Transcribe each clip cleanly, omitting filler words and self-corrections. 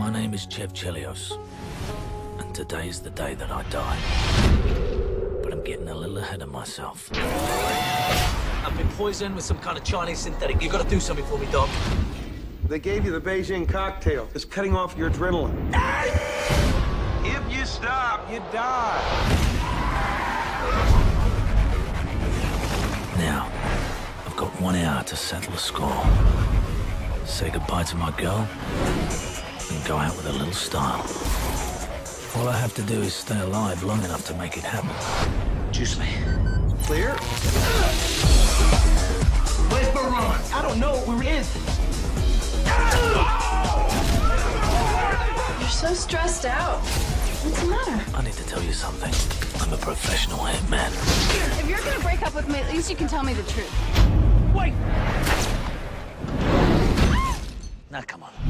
My name is Chev Chelios, and today's the day that I die. But I'm getting a little ahead of myself. I've been poisoned with some kind of Chinese synthetic. You gotta do something for me, Doc. They gave you the Beijing cocktail. It's cutting off your adrenaline. If you stop, you die. Now, I've got 1 hour to settle the score. Say goodbye to my girl, and go out with a little style. All I have to do is stay alive long enough to make it happen. Juice me. Clear? Where's Baron? I don't know where he is. You're so stressed out. What's the matter? I need to tell you something. I'm a professional hitman. If you're gonna break up with me, at least you can tell me the truth. Wait! Now, come on.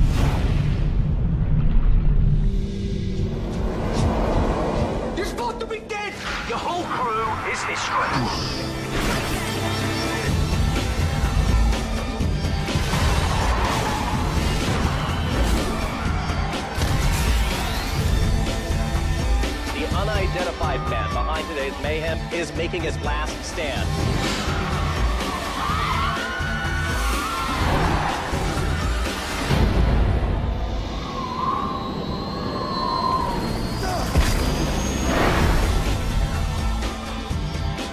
You're supposed to be dead! Your whole crew is history. The unidentified man behind today's mayhem is making his last stand.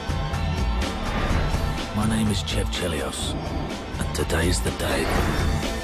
My name is Chev Chelios, and today's the day.